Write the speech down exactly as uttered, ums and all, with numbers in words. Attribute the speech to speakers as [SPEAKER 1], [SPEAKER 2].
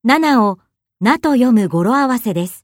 [SPEAKER 1] ななをなと読む語呂合わせです。